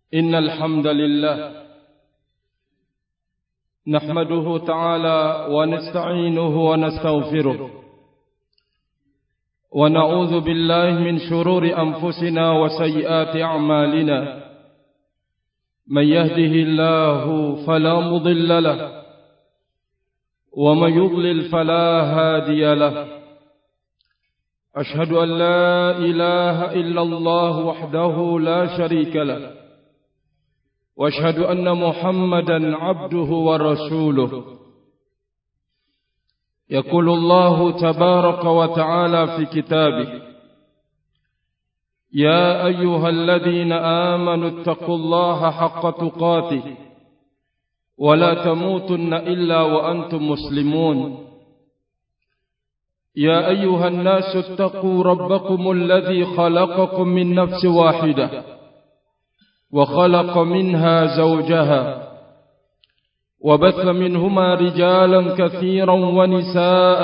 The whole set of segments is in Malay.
إن الحمد لله نحمده تعالى ونستعينه ونستغفره ونعوذ بالله من شرور أنفسنا وسيئات أعمالنا من يهده الله فلا مضل له ومن يضلل فلا هادي له أشهد أن لا إله إلا الله وحده لا شريك له وأشهد أن محمدا عبده ورسوله يقول الله تبارك وتعالى في كتابه يا أيها الذين آمنوا اتقوا الله حق تقاته ولا تموتن إلا وأنتم مسلمون يا أيها الناس اتقوا ربكم الذي خلقكم من نفس واحدة وخلق منها زوجها وبث منهما رجالا كثيرا ونساء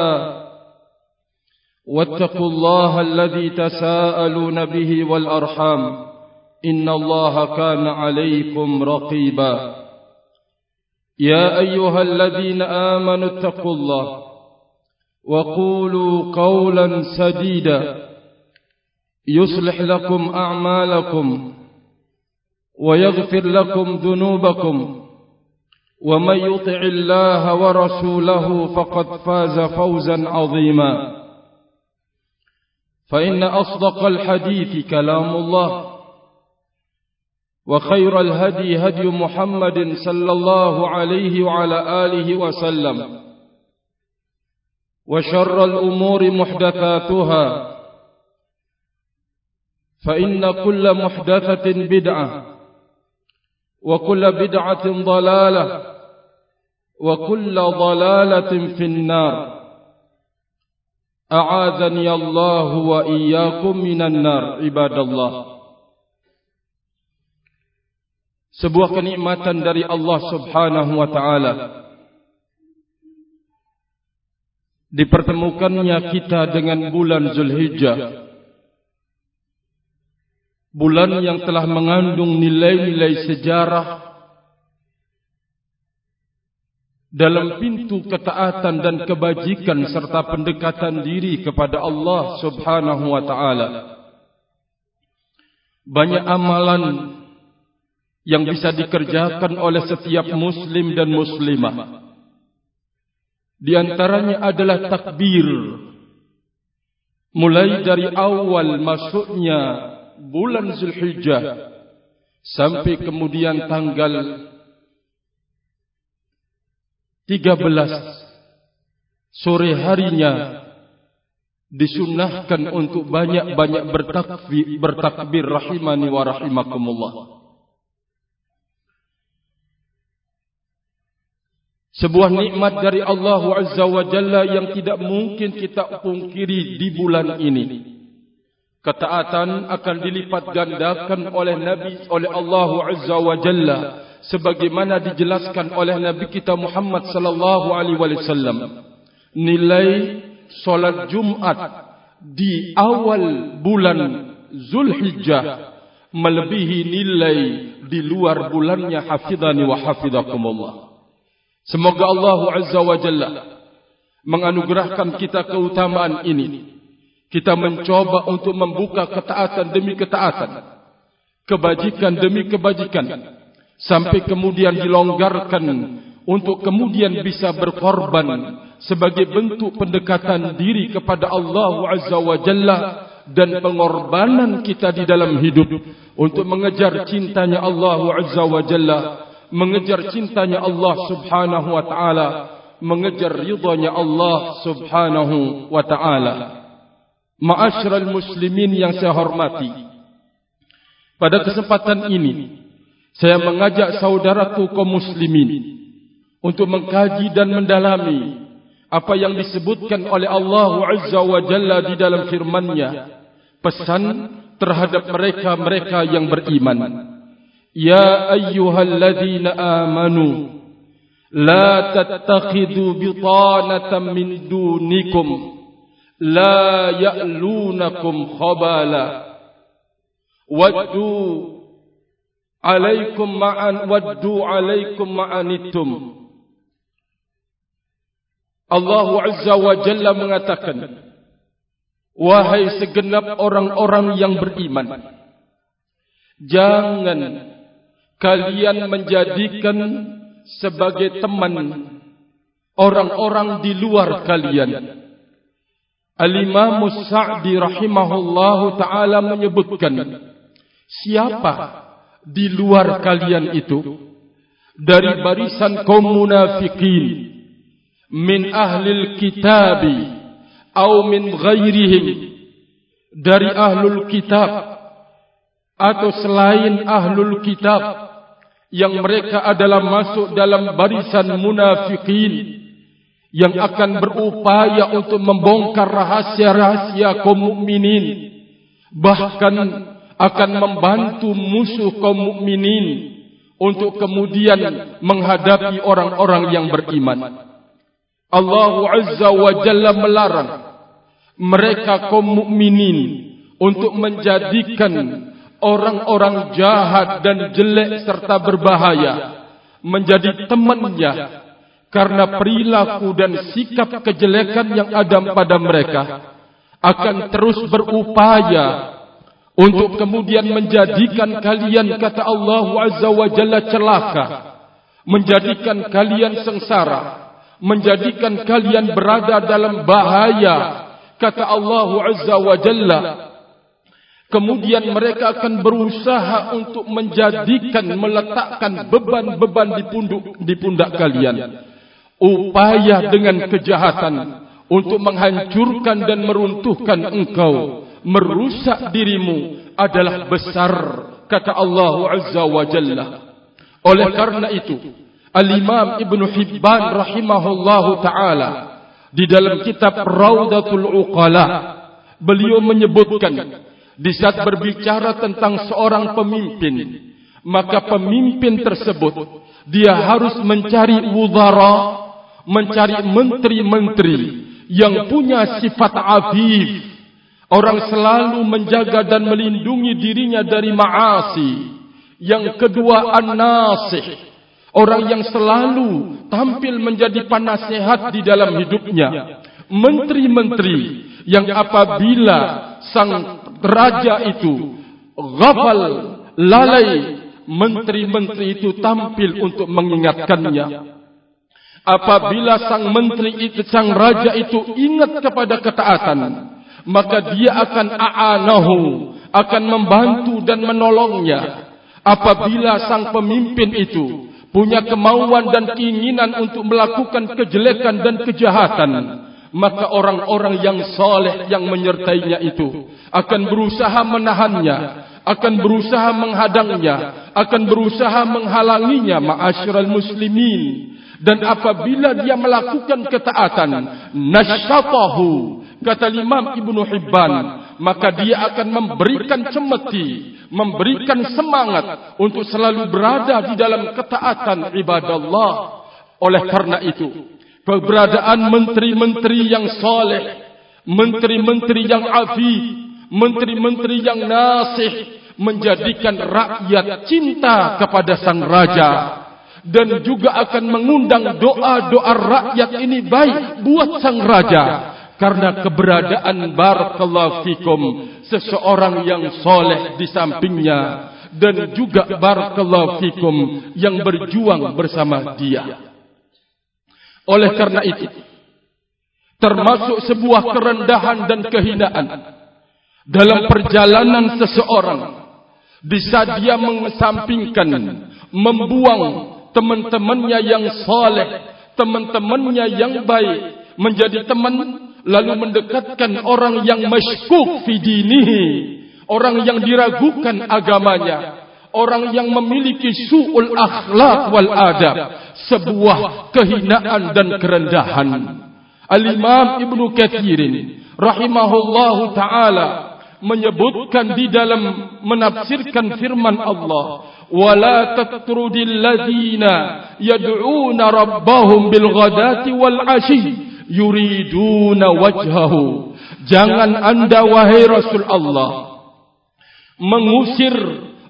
واتقوا الله الذي تساءلون به والأرحام إن الله كان عليكم رقيبا يا أيها الذين آمنوا اتقوا الله وقولوا قولا سديدا يصلح لكم أعمالكم ويغفر لكم ذنوبكم ومن يطع الله ورسوله فقد فاز فوزا عظيما فإن أصدق الحديث كلام الله وخير الهدي هدي محمد صلى الله عليه وعلى آله وسلم وشر الأمور محدثاتها فإن كل محدثة بدعة وكل بدعة ضلالة وكل ضلالة في النار أعاذني الله وإياكم من النار عباد الله. Sebuah kenikmatan dari Allah Subhanahu wa taala dipertemukannya kita dengan bulan Zulhijjah, bulan yang telah mengandung nilai-nilai sejarah dalam pintu ketaatan dan kebajikan serta pendekatan diri kepada Allah Subhanahu wa taala. Banyak amalan yang bisa dikerjakan oleh setiap muslim dan muslimah. Di antaranya adalah takbir. Mulai dari awal masuknya bulan Zulhijjah sampai kemudian tanggal 13 sore harinya disunnahkan untuk banyak-banyak bertakbir rahimani wa rahimakumullah. Sebuah nikmat dari Allah Azza wa Jalla yang tidak mungkin kita pungkiri di bulan ini. Ketaatan akan dilipat gandakan oleh Allah Azza wa Jalla sebagaimana dijelaskan oleh Nabi kita Muhammad sallallahu alaihi wasallam. Nilai salat Jumat di awal bulan Zulhijjah melebihi nilai di luar bulannya, hafidhani wa hafidhakumullah. Semoga Allah Azza wa Jalla menganugerahkan kita keutamaan ini. Kita mencoba untuk membuka ketaatan demi ketaatan, kebajikan demi kebajikan, sampai kemudian dilonggarkan untuk kemudian bisa berkorban sebagai bentuk pendekatan diri kepada Allah Azza wa Jalla dan pengorbanan kita di dalam hidup untuk mengejar cintanya Allah Azza wa Jalla, mengejar cintanya Allah Subhanahu wa taala, mengejar ridhanya Allah Subhanahu wa taala. Ma'asyiral muslimin yang saya hormati, pada kesempatan ini saya mengajak saudaraku kaum muslimin untuk mengkaji dan mendalami apa yang disebutkan oleh Allah Azza wa Jalla di dalam firman-Nya, pesan terhadap mereka-mereka yang beriman. Ya ayyuhalladzina amanu la tattakhidu bitanatan min dunikum la ya'lunakum khabala waddu alaikum ma'an waddu alaikum ma'anittum. Allah Azza wa Jalla mengatakan, wahai segenap orang-orang yang beriman, jangan kalian menjadikan sebagai teman orang-orang di luar kalian. Al-Imam Sa'di rahimahullahu ta'ala menyebutkan, siapa di luar kalian itu? Dari barisan kaum munafikin, min ahlil kitabi atau min ghairihim, dari ahlul kitab atau selain ahlul kitab, yang mereka adalah masuk dalam barisan munafikin yang akan berupaya untuk membongkar rahasia-rahasia kaum mukminin, bahkan akan membantu musuh kaum mukminin untuk kemudian menghadapi orang-orang yang beriman. Allah Azza wa Jalla melarang mereka kaum mukminin untuk menjadikan orang-orang jahat dan jelek serta berbahaya menjadi temannya, karena perilaku dan sikap kejelekan yang ada pada mereka akan terus berupaya untuk kemudian menjadikan kalian, kata Allah Azza wa Jalla, celaka, menjadikan kalian sengsara, menjadikan kalian berada dalam bahaya, kata Allah Azza wa Jalla. Kemudian mereka akan berusaha untuk menjadikan, meletakkan beban-beban di pundak kalian. Upaya dengan kejahatan untuk menghancurkan dan meruntuhkan engkau, merusak dirimu adalah besar, kata Allah Azza wa Jalla. Oleh karena itu, Al-Imam Ibn Hibban rahimahullahu ta'ala di dalam kitab Raudatul Uqala, beliau menyebutkan, di saat berbicara tentang seorang pemimpin, maka pemimpin tersebut dia harus mencari wuzara, mencari menteri-menteri yang punya sifat afif, orang selalu menjaga dan melindungi dirinya dari ma'asi. Yang kedua, an-nasih, orang yang selalu tampil menjadi penasehat di dalam hidupnya. Menteri-menteri yang apabila sang raja itu ghafal, lalai, menteri-menteri itu tampil untuk mengingatkannya. Apabila sang menteri itu, sang raja itu ingat kepada ketaatan, maka dia akan a'anahu, akan membantu dan menolongnya. Apabila sang pemimpin itu punya kemauan dan keinginan untuk melakukan kejelekan dan kejahatan, maka orang-orang yang saleh yang menyertainya itu akan berusaha menahannya, akan berusaha menghadangnya, akan berusaha menghalanginya, ma'asyiral muslimin. Dan apabila dia melakukan ketaatan, nasyatahu, kata Imam Ibn Hibban, maka dia akan memberikan cemeti, memberikan semangat untuk selalu berada di dalam ketaatan ibadallah. Oleh karena itu, keberadaan menteri-menteri yang saleh, menteri-menteri yang afif, menteri-menteri yang nasih, menjadikan rakyat cinta kepada sang raja, dan juga akan mengundang doa-doa rakyat ini baik buat sang raja, karena keberadaan barakallahu fikum seseorang yang soleh di sampingnya, dan juga barakallahu fikum yang berjuang bersama dia. Oleh karena itu, termasuk sebuah kerendahan dan kehinaan dalam perjalanan seseorang di saat dia mengesampingkan, membuang teman-temannya yang saleh, teman-temannya yang baik menjadi teman, lalu mendekatkan orang yang masykuk fi dinihi, orang yang diragukan agamanya, orang yang memiliki su'ul akhlak wal adab, sebuah kehinaan dan kerendahan. Al-Imam Ibn Katsirin rahimahullahu ta'ala menyebutkan di dalam menafsirkan firman Allah, وَلَا تَتْرُدِ الَّذِينَ يَدْعُونَ رَبَّهُمْ بِالْغَدَاةِ وَالْعَشِيِّ يُرِيدُونَ وَجْهَهُ. Jangan anda wahai Rasul Allah mengusir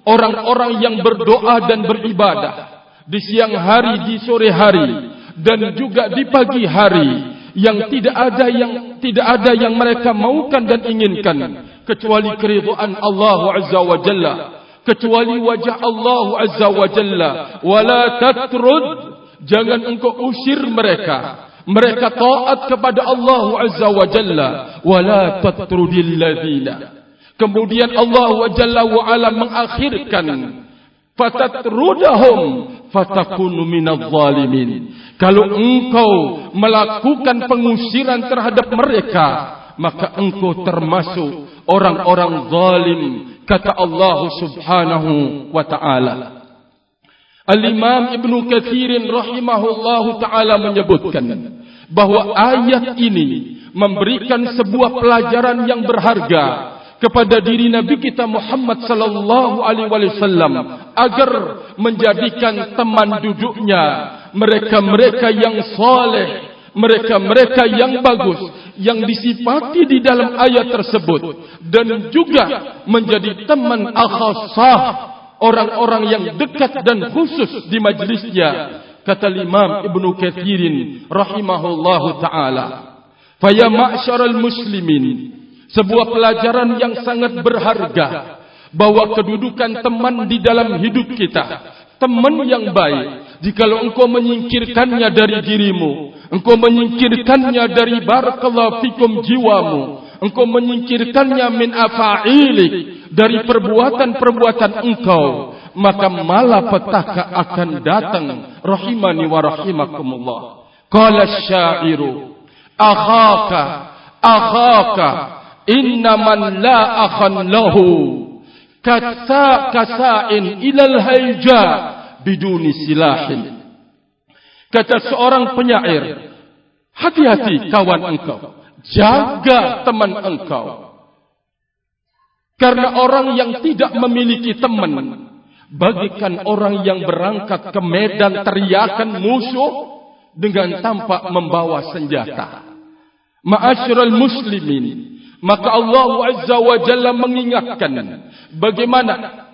orang-orang yang berdoa dan beribadah di siang hari, di sore hari, dan juga di pagi hari, yang tidak ada yang mereka maukan dan inginkan kecuali keridhaan Allah Azza wa Jalla, kecuali wajah Allah Azza wa Jalla. Wala tatrud, jangan engkau usir mereka. Mereka taat kepada Allah Azza wa Jalla. Wala tatrudil ladzina. Kemudian Allah Jalla wa Ala mengakhirkan, fatatrudahum fatakunu minadh zalimin. Kalau engkau melakukan pengusiran terhadap mereka, maka engkau termasuk orang-orang zalim, kata Allah Subhanahu wa taala. Al-Imam Ibn Katsir rahimahullahu taala menyebutkan bahwa ayat ini memberikan sebuah pelajaran yang berharga kepada diri Nabi kita Muhammad sallallahu alaihi wasallam agar menjadikan teman duduknya mereka-mereka yang saleh, mereka-mereka yang bagus yang disifati di dalam ayat tersebut, dan juga menjadi teman akhassah, orang-orang yang dekat dan khusus di majlisnya, kata Imam Ibnu Katsir rahimahullahu taala. Fa ya ma'syaral muslimin, sebuah pelajaran yang sangat berharga bahwa kedudukan teman di dalam hidup kita, teman yang baik, jikalau engkau menyingkirkannya dari dirimu, engkau menyingkirkannya dari barakallahu fikum jiwamu, engkau menyingkirkannya min afa'ilik, dari perbuatan-perbuatan engkau, maka malapetaka akan datang. Rahimani wa rahimakumullah. Qala asy-sya'iru akhaka innaman la akhan lahu kasa'in ilal hayja biduni silahin. Kata seorang penyair, hati-hati kawan engkau, jaga teman engkau, karena orang yang tidak memiliki teman bagikan orang yang berangkat ke medan teriakan musuh dengan tanpa membawa senjata. Ma'asyiral muslimin, maka Allah Azza wa Jalla mengingatkan bagaimana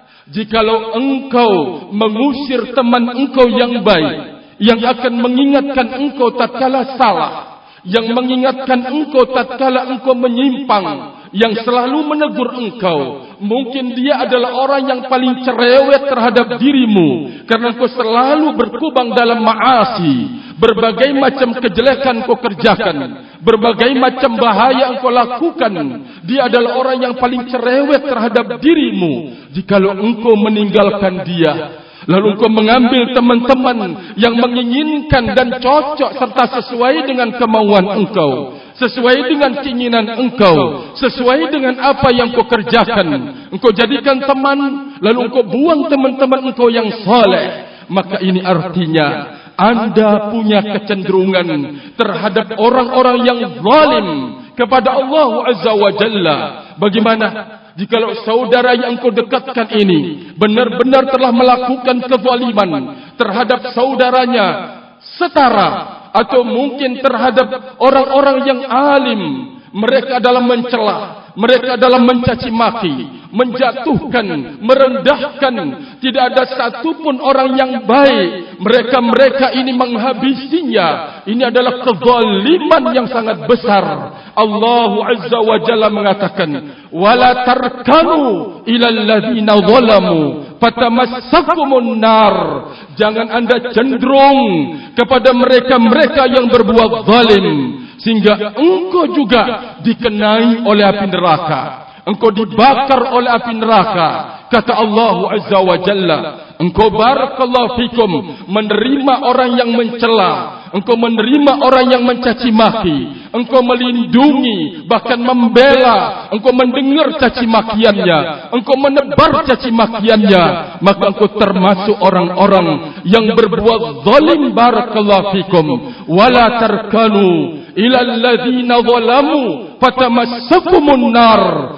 jikalau engkau mengusir teman engkau yang baik, yang akan mengingatkan engkau tatkala salah, yang mengingatkan engkau tatkala engkau menyimpang, yang selalu menegur engkau. Mungkin dia adalah orang yang paling cerewet terhadap dirimu, karena engkau selalu berkubang dalam maasi, berbagai macam kejelekan kau kerjakan, berbagai macam bahaya engkau lakukan. Dia adalah orang yang paling cerewet terhadap dirimu. Jikalau engkau meninggalkan dia, lalu engkau mengambil teman-teman yang menginginkan dan cocok serta sesuai dengan kemauan engkau, sesuai dengan keinginan engkau, sesuai dengan apa yang kau kerjakan, engkau jadikan teman, lalu engkau buang teman-teman engkau yang saleh, maka ini artinya anda punya kecenderungan terhadap orang-orang yang zalim kepada Allah Azza wa Jalla. Bagaimana jikalau saudara yang engkau dekatkan ini benar-benar telah melakukan kezaliman terhadap saudaranya setara, atau mungkin terhadap orang-orang yang alim, mereka dalam mencela, mereka dalam mencaci maki, menjatuhkan, merendahkan, tidak ada satupun orang yang baik, mereka ini menghabisinya. Ini adalah kezaliman yang sangat besar. Allah Azza wa Jalla mengatakan, wala tarkanu ilal ladzina zalamu fatamassakumun nar. Jangan anda cenderung kepada mereka-mereka yang berbuat zalim, sehingga engkau juga dikenai oleh api neraka, engkau dibakar oleh api neraka. Kata Allah Azza wa Jalla, engkau barakallahu fikum menerima orang yang mencela, engkau menerima orang yang mencaci maki, engkau melindungi, bahkan membela, engkau mendengar caci makiannya, engkau menebar caci makiannya, maka engkau termasuk orang-orang yang berbuat zalim. Barakallahu fikum. Wala tarkanu ilal ladzina zalamu fatamassakumun nar.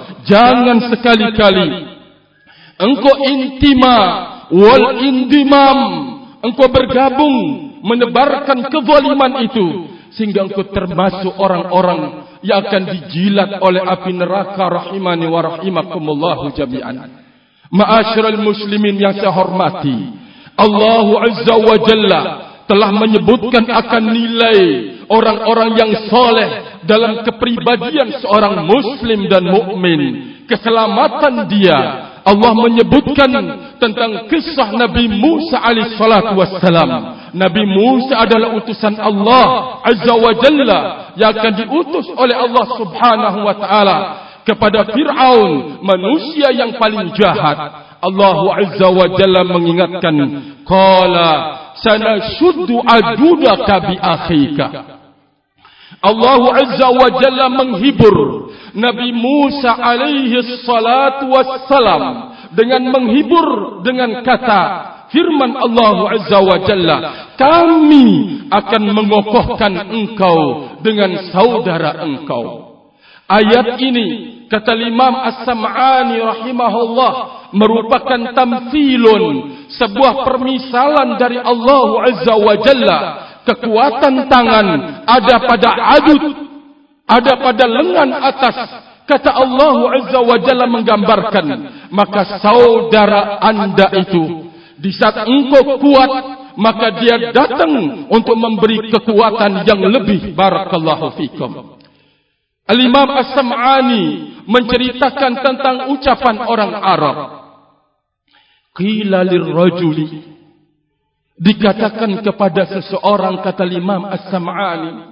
Jangan sekali-kali engkau intima wal indimam, engkau bergabung menebarkan kezaliman itu, sehingga engkau termasuk orang-orang yang akan dijilat oleh api neraka. Rahimani wa rahimakumullahu jami'an. Ma'asyiral muslimin yang saya hormati, Allah Azza wa Jalla telah menyebutkan akan nilai orang-orang yang soleh dalam kepribadian seorang muslim dan mukmin, keselamatan dia. Allah menyebutkan tentang kisah Nabi Musa alaihi salatu wassalam. Nabi Musa adalah utusan Allah Azza wa Jalla yang akan diutus oleh Allah Subhanahu wa taala kepada Fir'aun, manusia yang paling jahat. Allah Azza wa Jalla mengingatkan, qala sanashuddu adudaka bi akhika. Allah Azza wa Jalla menghibur Nabi Musa alaihi salatu wassalam dengan menghibur dengan kata firman Allah Azza wa Jalla, kami akan mengokohkan engkau dengan saudara engkau. Ayat ini kata Imam As-Sam'ani rahimahullah merupakan tamthilun, sebuah permisalan dari Allah Azza wa Jalla. Kekuatan tangan ada pada adud, ada pada lengan atas. Kata Allah Azza wa Jalla menggambarkan, maka saudara anda itu di saat engkau kuat, maka dia datang untuk memberi kekuatan yang lebih. Barakallahu fikum. Al-Imam As-Sam'ani menceritakan tentang ucapan orang Arab. Qila lirrajuli, dikatakan kepada seseorang, kata Imam As-Sam'ani,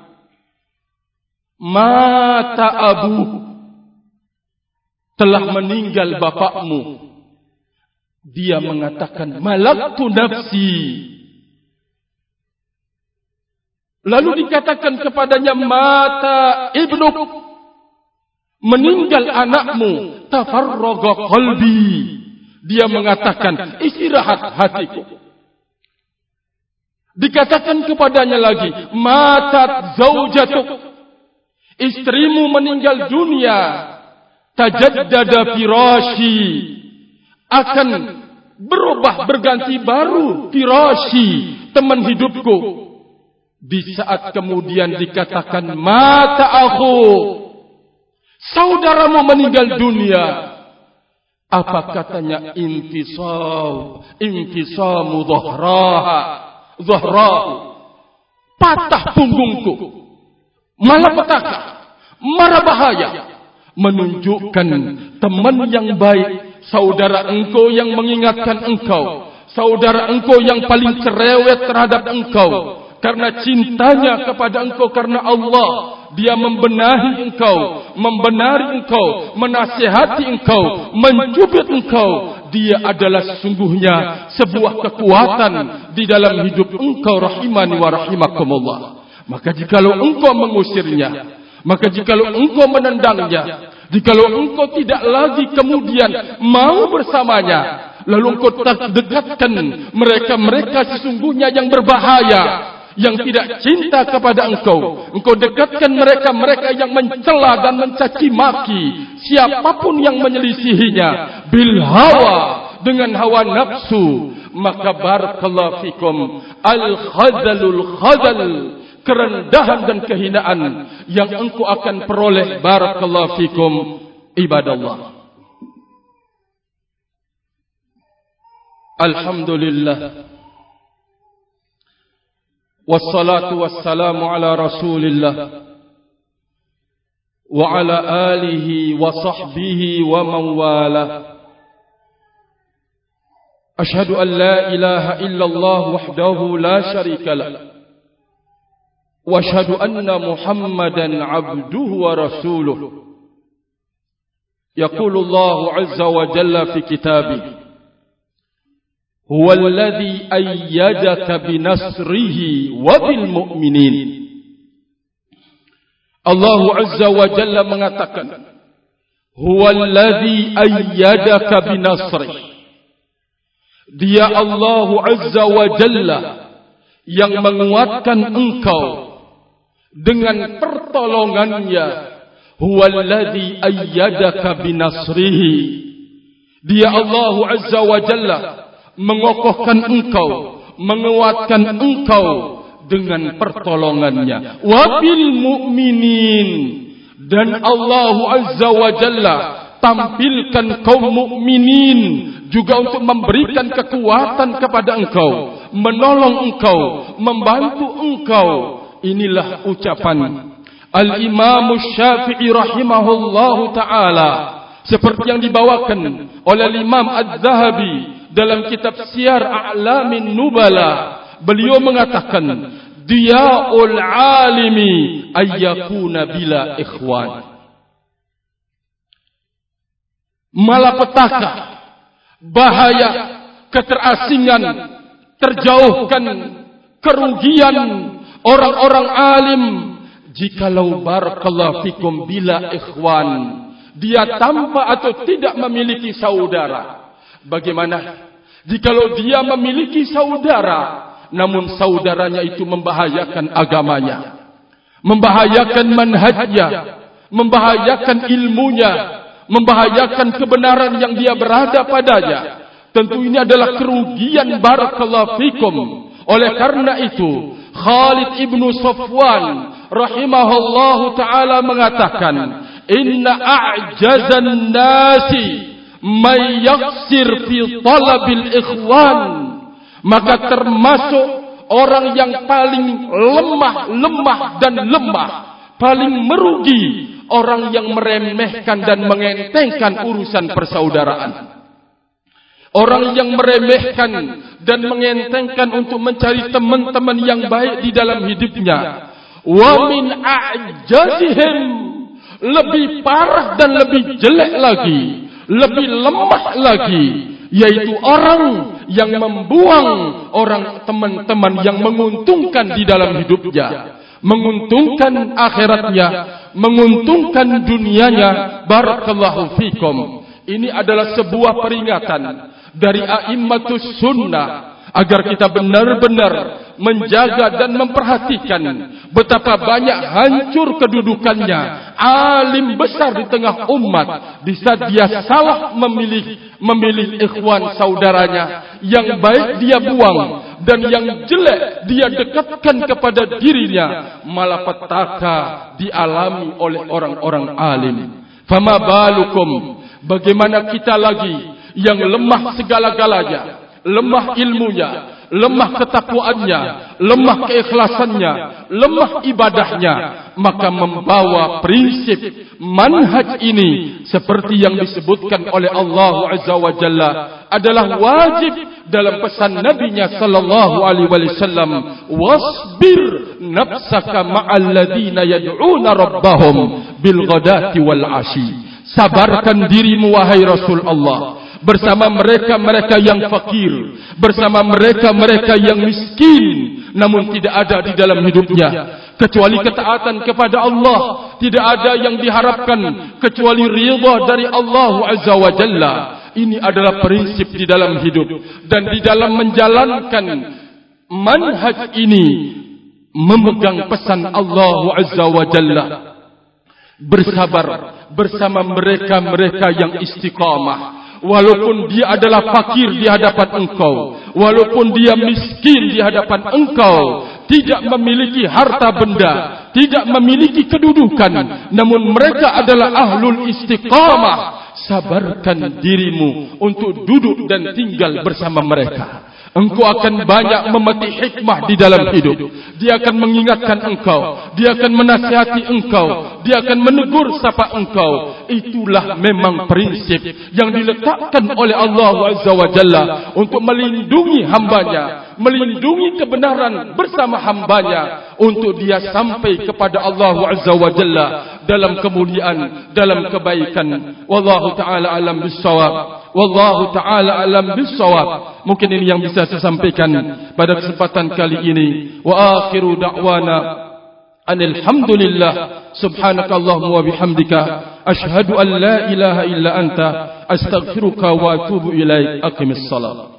mata abu, telah meninggal bapakmu. Dia mengatakan, malaktu nafsi. Lalu dikatakan kepadanya, mata ibnuk, meninggal anakmu. Tafarraga qalbi. Dia mengatakan, istirahat hatiku. Dikatakan kepadanya lagi, matat zaujatuk, istrimu meninggal dunia. Tajaddada firashi, akan berubah, berganti baru firashi, teman hidupku. Di saat kemudian dikatakan mata aku, saudaramu meninggal dunia. Apa katanya? Infisamu dhahrahu, patah punggungku, malapetaka, mara bahaya. Menunjukkan teman yang baik, saudara engkau yang mengingatkan engkau, saudara engkau yang paling cerewet terhadap engkau, karena cintanya kepada engkau, karena Allah, dia membenahi engkau, membenari engkau, menasihati engkau, mencubit engkau. Dia adalah sesungguhnya sebuah kekuatan di dalam hidup engkau, rahimani wa rahimakumullah. Maka jikalau engkau mengusirnya, maka jikalau engkau menendangnya, jikalau engkau tidak lagi kemudian mau bersamanya, lalu engkau dekatkan mereka-mereka sesungguhnya yang berbahaya, yang tidak cinta kepada engkau. Engkau dekatkan mereka-mereka yang mencela dan mencaci maki siapapun yang menyelisihinya bil hawa, dengan hawa nafsu. Maka barakallahu fikum, al-khadalul khadal, kerendahan dan kehinaan yang engkau akan peroleh. Barakallahu fikum ibadallah. Alhamdulillah, wassalatu wassalamu ala rasulillah wa ala alihi wa sahbihi wa man wala. Ashhadu an la ilaha illallah wahdahu la syarika lah, wa ashhadu anna Muhammadan abduhu wa rasuluh. Yaqulu Allah azza wa jalla fi kitabih, huwa alladhi ayyadaka binasrihi wa bil mu'minin. Allah azza wa jalla mengatakan, huwa alladhi ayyadaka binasrihi. Dia Allah azza wa jalla yang menguatkan engkau dengan pertolongannya. Huwallazi ayyadaka binasrihi. Dia Allah azza wa jalla mengokohkan engkau, menguatkan engkau dengan pertolongannya. Wa bil mu'minin, dan Allah azza wa jalla tampilkan kaum mukminin, juga untuk memberikan kekuatan kepada engkau, menolong engkau, membantu engkau. Inilah ucapan Al-Imam Syafi'i rahimahullahu ta'ala, seperti yang dibawakan oleh Imam Az-Zahabi dalam kitab Siyar A'lamin Nubala. Beliau mengatakan, Diya'ul alimi ayyakuna bila ikhwan. Malapetaka, bahaya, keterasingan, terjauhkan, kerugian orang-orang alim jikalau barakallahu fikum bila ikhwan, dia tanpa atau tidak memiliki saudara. Bagaimana jikalau dia memiliki saudara, namun saudaranya itu membahayakan agamanya, membahayakan manhajnya, membahayakan ilmunya, membahayakan kebenaran yang dia berada padanya? Tentu ini adalah kerugian barakallahu fikum. Oleh karena itu, Khalid ibnu Safwan rahimahullahu ta'ala mengatakan, Inna a'jazan nasi may yaksir fi talabil ikhwan. Maka termasuk orang yang paling lemah paling merugi, orang yang meremehkan dan mengentengkan urusan persaudaraan. Orang yang meremehkan dan mengentengkan untuk mencari teman-teman yang baik di dalam hidupnya. Wa min a'jazihim, lebih parah dan lebih jelek lagi, lebih lemah lagi, yaitu orang yang membuang orang teman-teman yang menguntungkan di dalam hidupnya, menguntungkan akhiratnya, menguntungkan dunianya. Barakallahu fikum. Ini adalah sebuah peringatan dari a'immatus sunnah agar kita benar-benar menjaga dan memperhatikan betapa banyak hancur kedudukannya alim besar di tengah umat di saat dia salah memilih ikhwan saudaranya. Yang baik dia buang dan yang jelek dia dekatkan kepada dirinya. Malapetaka dialami oleh orang-orang alim. Fama balukum, bagaimana kita lagi yang lemah segala-galanya, lemah ilmunya, lemah ketakwaannya, lemah keikhlasannya, lemah ibadahnya, maka membawa prinsip manhaj ini seperti yang disebutkan oleh Allah Azza wa Jalla adalah wajib dalam pesan Nabi-Nya sallallahu alaihi wasallam, wasbir nafsaka ma'al ladina yad'una rabbahum bil ghadati wal ashi. Sabarkan dirimu wahai Rasul Allah bersama mereka-mereka yang fakir, bersama mereka-mereka yang miskin, namun tidak ada di dalam hidupnya kecuali ketaatan kepada Allah. Tidak ada yang diharapkan kecuali ridha dari Allah Azza wa Jalla. Ini adalah prinsip di dalam hidup, dan di dalam menjalankan manhaj ini memegang pesan Allah Azza wa Jalla. Bersabar bersama mereka-mereka yang istiqamah. Walaupun dia adalah fakir di hadapan engkau, walaupun dia miskin di hadapan engkau, tidak memiliki harta benda, tidak memiliki kedudukan, namun mereka adalah ahlul istiqamah. Sabarkan dirimu untuk duduk dan tinggal bersama mereka. Engkau akan banyak memetik hikmah di dalam hidup. Dia akan mengingatkan engkau, dia akan menasihati engkau, dia akan menegur sapa engkau. Itulah memang prinsip yang diletakkan oleh Allah Azza wa Jalla untuk melindungi hambanya, melindungi kebenaran bersama hambanya, untuk dia sampai kepada Allah Azza wa Jalla dalam kemuliaan, dalam kebaikan. Wallahu ta'ala alam bissawab. Wallahu ta'ala alam bissawab. Mungkin ini yang bisa saya sampaikan pada kesempatan kali ini. Wa akhiru da'wana anil hamdulillah. Subhanakallahumma wa bihamdika ashhadu an la ilaha illa anta astaghfiruka wa atubu ilaik. Aqimis salat.